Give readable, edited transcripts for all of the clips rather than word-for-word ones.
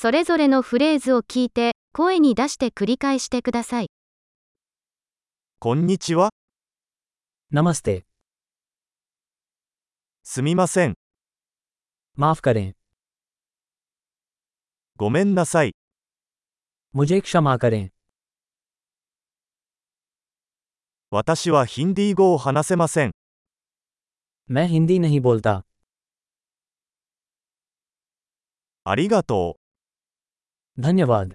それぞれのフレーズを聞いて、声に出して繰り返してください。 こんにちは。 नमस्ते। すみません。 माफ करें। ごめんなさい。 मुझे क्षमा करें। 私はヒンディー語を話せません。 मैं हिंदी नहीं बोलता। ありがと धन्यवाद। う。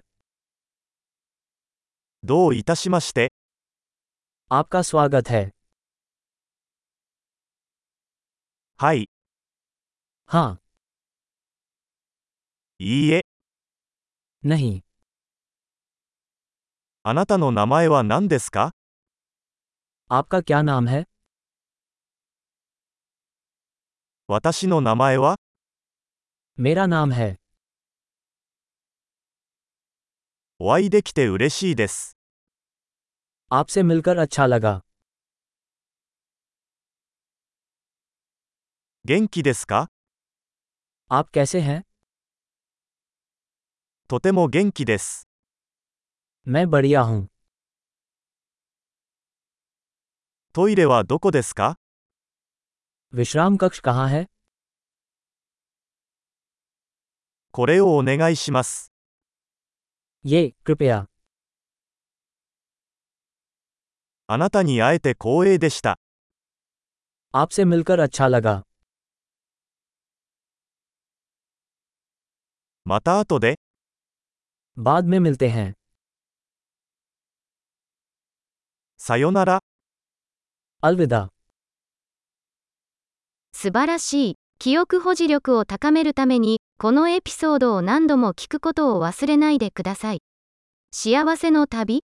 どういたしまして。 आपका स्वागत है। はい。 हाँ। いいえ。 नहीं। あなたの名前は何ですか？ आपका क्या नाम है? 私の名前は？ मेरा नाम है। お会いできて嬉しいです。 आपसे मिलकर अच्छा लगा। 元気ですか？ आप कैसे हैं? とても元気です。 मैं बढ़िया हूँ। トイレはどこですか？ विश्राम कक्ष कहाँ है? これをお願いします。 ये कृपया। あなたに会えて光栄でした。 आपसे मिलकर अच्छा लगा। また後で。 बाद में मिलते हैं। さよなら。 अलविदा। 素晴らしい。記憶保持力を高めるために、このエピソードを何度も聞くことを忘れないでください。幸せの旅